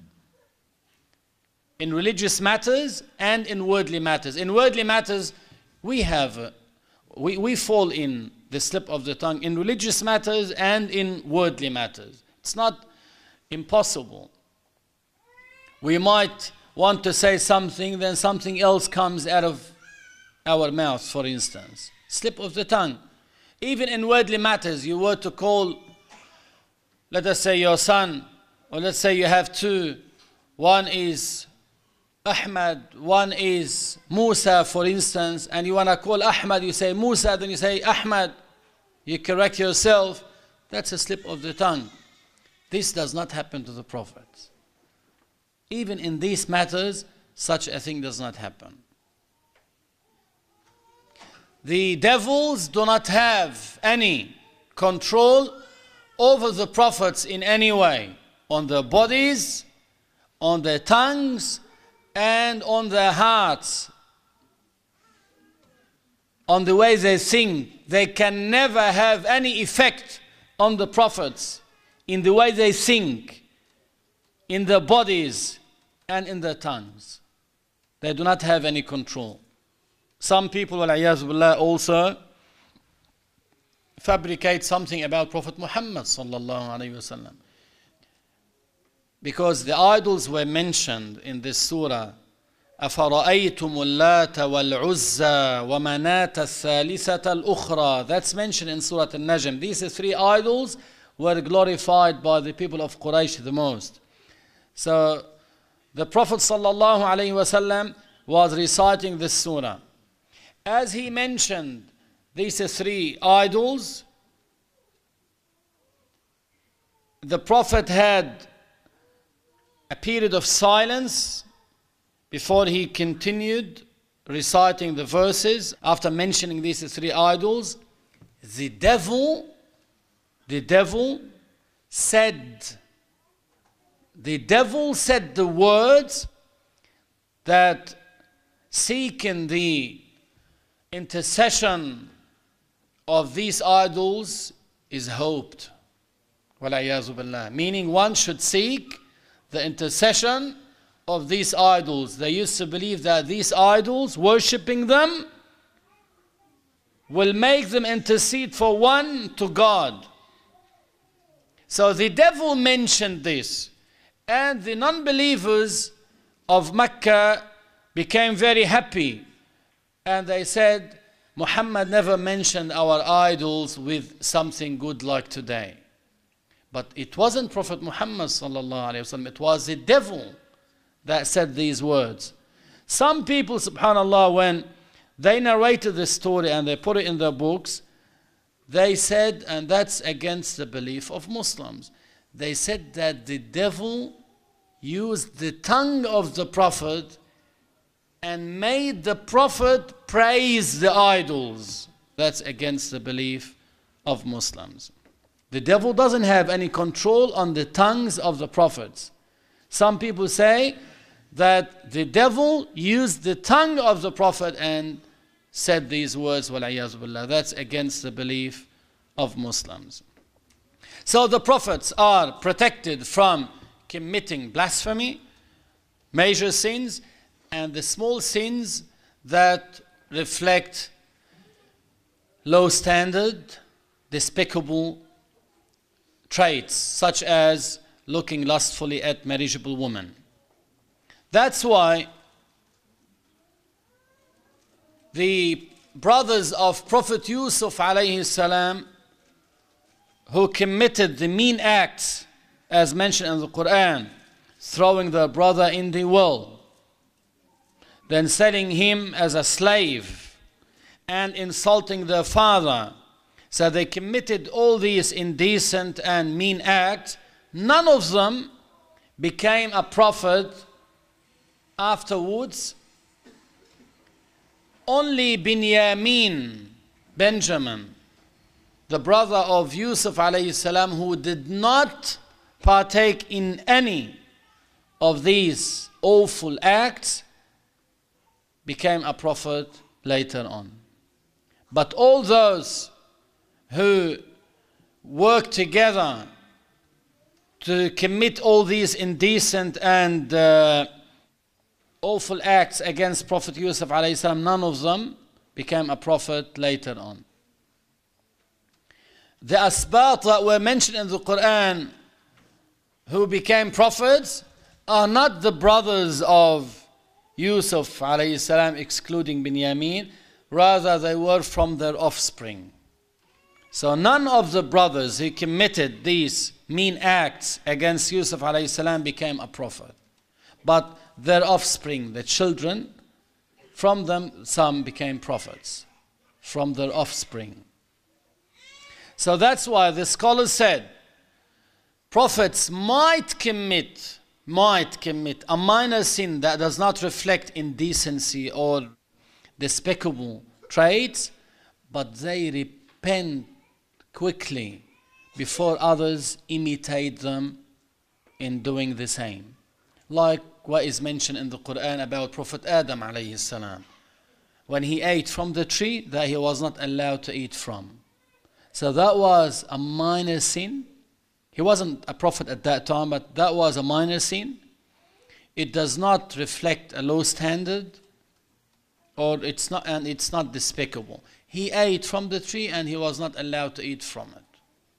In religious matters and in worldly matters. In worldly matters, we fall in the slip of the tongue. In religious matters and in worldly matters. It's not impossible. We might want to say something, then something else comes out of our mouth, for instance. Slip of the tongue. Even in worldly matters, you were to call, let us say, your son, or let's say you have two. One is Ahmad, one is Musa, for instance, and you want to call Ahmad, you say Musa, then you say Ahmad, you correct yourself. That's a slip of the tongue. This does not happen to the prophets. Even in these matters, such a thing does not happen. The devils do not have any control over the prophets in any way, on their bodies, on their tongues, and on their hearts, on the way they think. They can never have any effect on the prophets in the way they think, in their bodies, and in their tongues. They do not have any control. Some people, وَالْعِيَاذُ بِاللَّهِ, also fabricate something about Prophet Muhammad sallallahu alaihi wasallam. Because the idols were mentioned in this surah. أَفَرَأَيْتُمُ اللَّاتَ وَالْعُزَّى وَمَنَاةَ الثَّالِثَةَ الْأُخْرَى. That's mentioned in Surah Al-Najm. These three idols were glorified by the people of Quraysh the most. So the Prophet sallallahu alaihi wasallam was reciting this surah. As he mentioned these three idols, the Prophet had a period of silence before he continued reciting the verses. After mentioning these three idols, the devil said the words that seeking the intercession of these idols is hoped. وَالْعِيَاذُ بِاللَّهِ. Meaning one should seek the intercession of these idols. They used to believe that these idols, worshipping them, will make them intercede for one to God. So the devil mentioned this, and the non-believers of Mecca became very happy, and they said, Muhammad never mentioned our idols with something good like today. But it wasn't Prophet Muhammad sallallahu alaihi wasallam, it was the devil that said these words. Some people, subhanallah, when they narrated this story and they put it in their books, they said, and that's against the belief of Muslims, they said that the devil used the tongue of the Prophet and made the Prophet praise the idols. That's against the belief of Muslims. The devil doesn't have any control on the tongues of the prophets. Some people say that the devil used the tongue of the Prophet and said these words, وَالْعِيَاذُ بِاللَّهِ. That's against the belief of Muslims. So the prophets are protected from committing blasphemy, major sins, and the small sins that reflect low standard, despicable traits, such as looking lustfully at marriageable women. That's why the brothers of Prophet Yusuf alayhi salam, who committed the mean acts as mentioned in the Quran, throwing their brother in the well, then selling him as a slave and insulting their father. So they committed all these indecent and mean acts. None of them became a prophet afterwards. Only Benjamin, the brother of Yusuf alayhi salam, who did not partake in any of these awful acts, became a prophet later on. But all those who work together to commit all these indecent and awful acts against Prophet Yusuf alayhi salam, none of them became a prophet later on. The asbat that were mentioned in the Quran who became prophets are not the brothers of Yusuf alayhi salam, excluding Binyamin, rather they were from their offspring. So none of the brothers who committed these mean acts against Yusuf alayhi salam became a prophet. But their offspring, the children, from them some became prophets, from their offspring. So that's why the scholars said, prophets might commit a minor sin that does not reflect indecency or despicable traits, but they repent quickly before others imitate them in doing the same. Like what is mentioned in the Quran about Prophet Adam alayhi salam, when he ate from the tree that he was not allowed to eat from. So that was a minor sin. He wasn't a prophet at that time, but that was a minor sin. It does not reflect a low standard, or it's not despicable. He ate from the tree and he was not allowed to eat from it.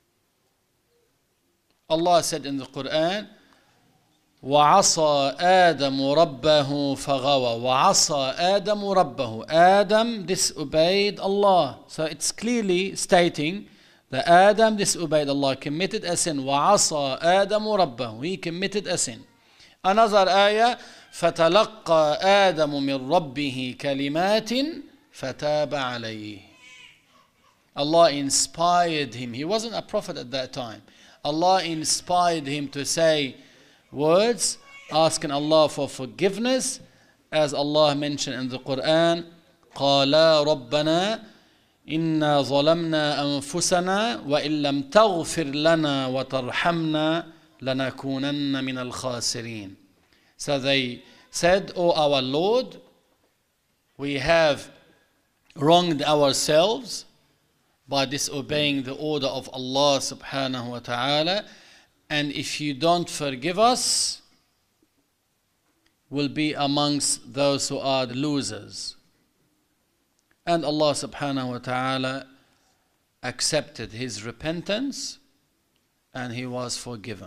Allah said in the Quran, وَعَصَى آدَمُ رَبَّهُ فَغَوَى. وَعَصَى آدَمُ رَبَّهُ. Adam disobeyed Allah. So it's clearly stating that Adam disobeyed Allah, committed a sin. وَعَصَى آدَمُ رَبَّهُ. He committed a sin. Another ayah, فَتَلَقَّى آدَمُ مِنْ رَبِّهِ كَلِمَاتٍ فَتَابَ عَلَيْهِ. Allah inspired him. He wasn't a prophet at that time. Allah inspired him to say words, asking Allah for forgiveness, as Allah mentioned in the Quran, قَالَا رَبَّنَا إِنَّا ظَلَمْنَا أَنفُسَنَا وَإِن لَمْ تَغْفِرْ لَنَا وَتَرْحَمْنَا لَنَكُونَنَّ مِنَ الْخَاسِرِينَ. So they said, O our Lord, we have wronged ourselves by disobeying the order of Allah subhanahu wa ta'ala, and if you don't forgive us, we'll be amongst those who are the losers. And Allah subhanahu wa ta'ala accepted his repentance and he was forgiven.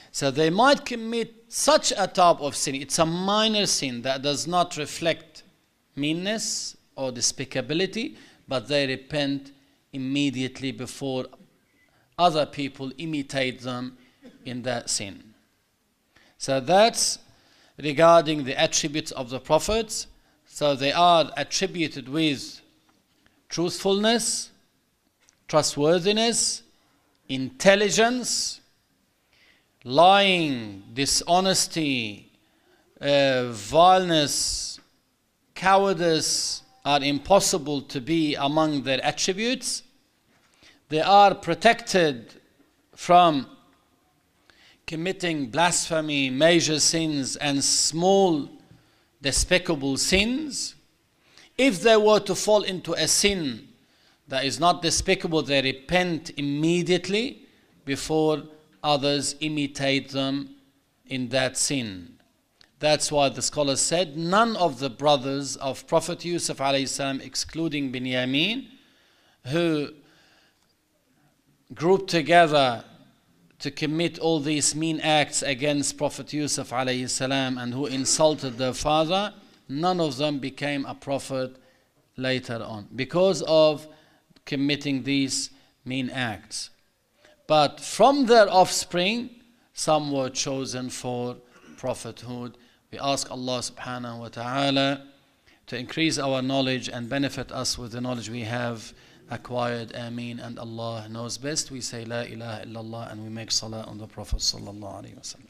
So they might commit such a type of sin. It's a minor sin that does not reflect meanness or despicability, but they repent immediately before other people imitate them in that sin. So that's regarding the attributes of the prophets. So they are attributed with truthfulness, trustworthiness, intelligence, lying, dishonesty, vileness, cowardice are impossible to be among their attributes. They are protected from committing blasphemy, major sins, and small despicable sins. If they were to fall into a sin that is not despicable, they repent immediately before others imitate them in that sin. That's why the scholars said none of the brothers of Prophet Yusuf alayhi salam, excluding Binyamin, who grouped together to commit all these mean acts against Prophet Yusuf alayhi salam and who insulted their father, none of them became a prophet later on because of committing these mean acts. But from their offspring, some were chosen for prophethood. We ask Allah subhanahu wa ta'ala to increase our knowledge and benefit us with the knowledge we have acquired. Ameen. And Allah knows best. We say La ilaha illallah and we make salah on the Prophet sallallahu alaihi wasallam.